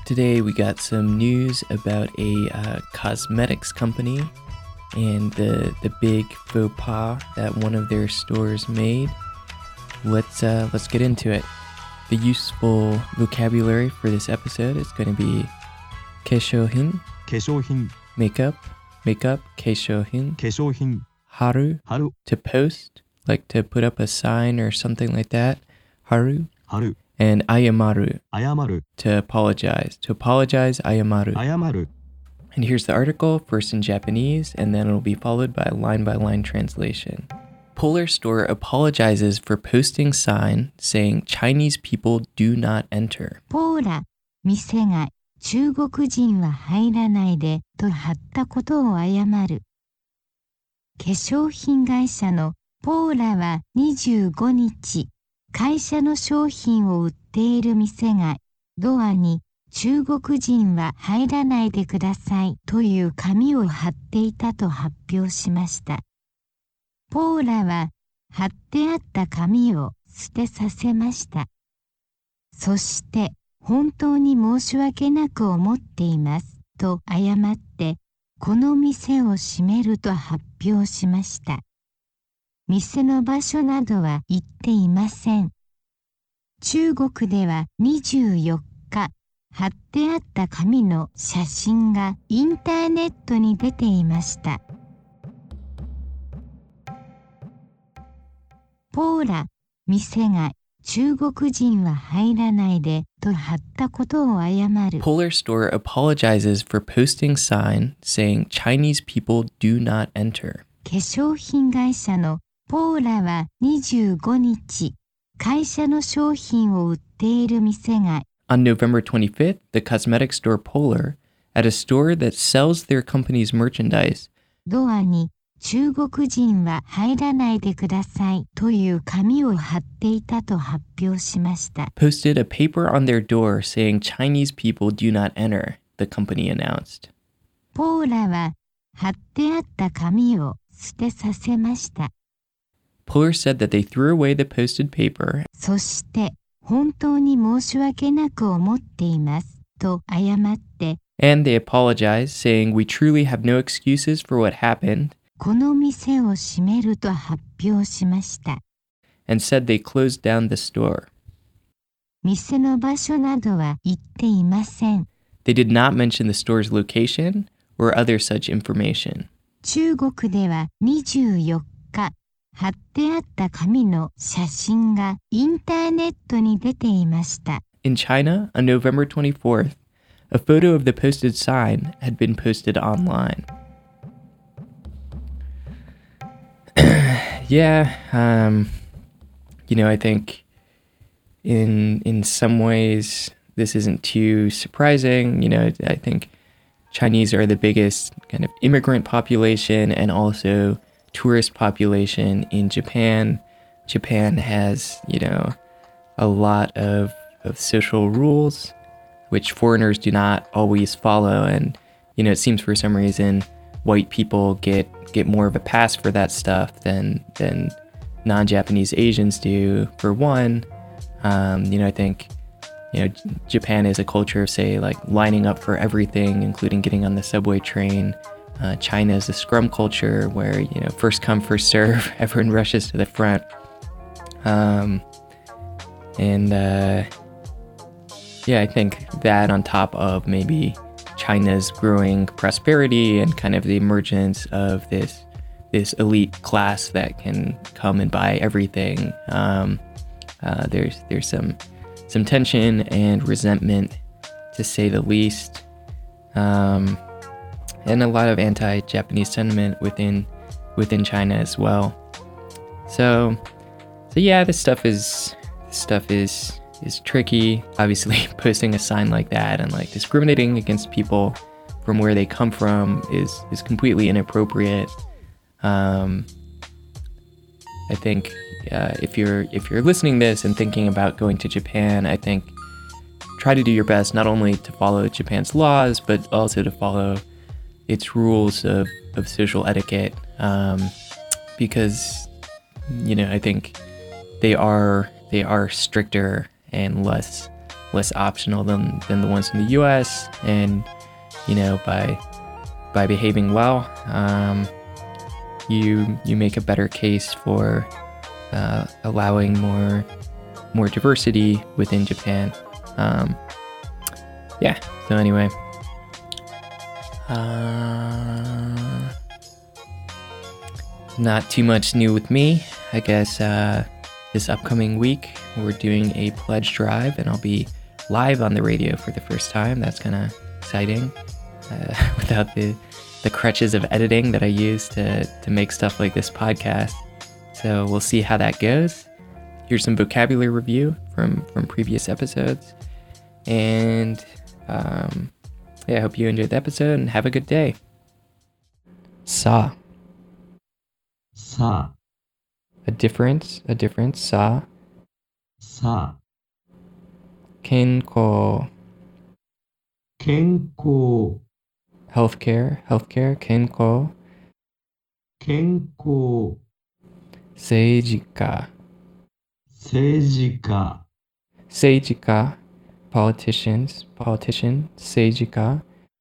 Today we got some news about a cosmetics company and the big faux pas that one of their stores made. Let's get into it. The useful vocabulary for this episode is going to be 化粧品化粧品 makeup 化粧品化粧品 haru 春 to post, like to put up a sign or something like that, haru, 春 and ayamaru 謝る to apologize. To apologize, ayamaru. 謝る And here's the article, first in Japanese, and then it'll be followed by line translation. Polar Store apologizes for posting sign saying Chinese people do not enter. ポーラ、店が中国人は入らないでと貼ったことを謝る。化粧品会社のポーラは25日、会社の商品を売っている店がドアに中国人は入らないでくださいという紙を貼っていたと発表しました。ポーラは貼ってあった紙を捨てさせました。そして本当に申し訳なく思っていますと謝ってこの店を閉めると発表しました。店の場所などは言っていません。中国では24日、貼ってあった紙の写真がインターネットに出ていました。ポーラ、店が中国人は入らないでと貼ったことを謝る。 Polar Store apologizes for posting sign saying Chinese people do not enter. 化粧品会社のポーラは25日、会社の商品を売っている店が On November 25th, the cosmetic store Polar, at a store that sells their company's merchandise, ドアに中国人は入らないでくださいという紙を貼っていたと発表しました。 posted a paper on their door saying Chinese people do not enter, the company announced. ポーラは貼ってあった紙を捨てさせました。 Polar said that they threw away the posted paper そして本当に申し訳なく思っていますと謝って and they apologized, saying we truly have no excuses for what happened, この店を閉めると発表しました。 and said they closed down the store. 店の場所などは言っていません。 They did not mention the store's location or other such information. 中国では24日、貼ってあった紙の写真がインターネットに出ていました。 In China, on November 24th, a photo of the posted sign had been posted online. Yeah, I think in some ways this isn't too surprising. I think Chinese are the biggest kind of immigrant population and also tourist population in Japan. Japan has, a lot of social rules which foreigners do not always follow, and it seems for some reason white people get more of a pass for that stuff than non-Japanese Asians do. For one, I think Japan is a culture of, say, like lining up for everything, including getting on the subway train. China is a scrum culture where, first come, first serve, everyone rushes to the front. I think that on top of maybe China's growing prosperity and kind of the emergence of this elite class that can come and buy everything, there's some tension and resentment, to say the least. And a lot of anti-Japanese sentiment within China as well. So yeah, this stuff is tricky. Obviously, posting a sign like that and like discriminating against people from where they come from is completely inappropriate. I think if you're listening to this and thinking about going to Japan, I think try to do your best not only to follow Japan's laws but also to follow its rules of social etiquette, because I think they are stricter and less less optional than the ones in the US. And, you know, by behaving well, you make a better case for allowing more diversity within Japan. Yeah, so anyway. Not too much new with me. I guess this upcoming week we're doing a pledge drive and I'll be live on the radio for the first time. That's kind of exciting without the crutches of editing that I use to make stuff like this podcast. So we'll see how that goes. Here's some vocabulary review from previous episodes. And I hope you enjoyed the episode and have a good day. Sa. Sa. A difference, sa. Sa. Kenko. Kenko. Healthcare, kenko. Kenko. Seijika. Seijika. Seijika. Politician, seijika.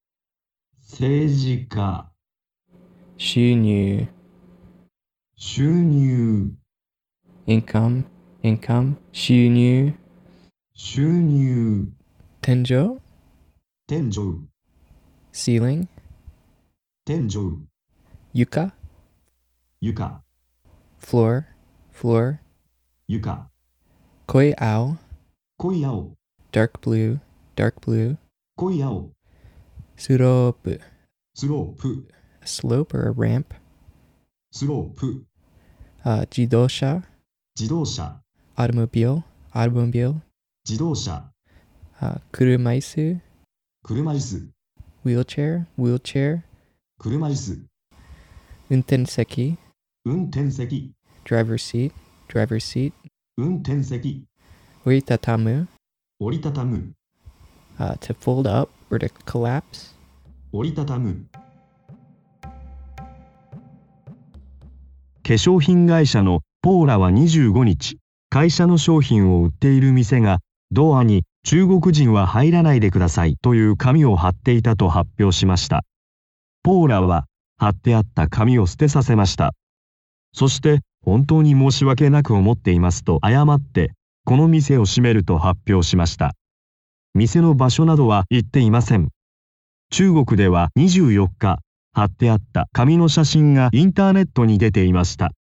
Seijika. 収入収入 income 収入収入天井天井 ceiling 天井床床 floor 床濃い青濃い青 dark blue 濃い青 slope スロープ a slope or a ramp スロープ自動車自動車 automobile 自動車車椅子車椅子 wheelchair 車椅子運転席運転席 driver seat 運転席折りたたむ折りたたむ to fold up or to collapse 折りたたむ化粧品会社のポーラは25日、会社の商品を売っている店がドアに中国人は入らないでくださいという紙を貼っていたと発表しました。ポーラは貼ってあった紙を捨てさせました。そして本当に申し訳なく思っていますと謝ってこの店を閉めると発表しました。店の場所などは言っていません。中国では24日、貼ってあった紙の写真がインターネットに出ていました。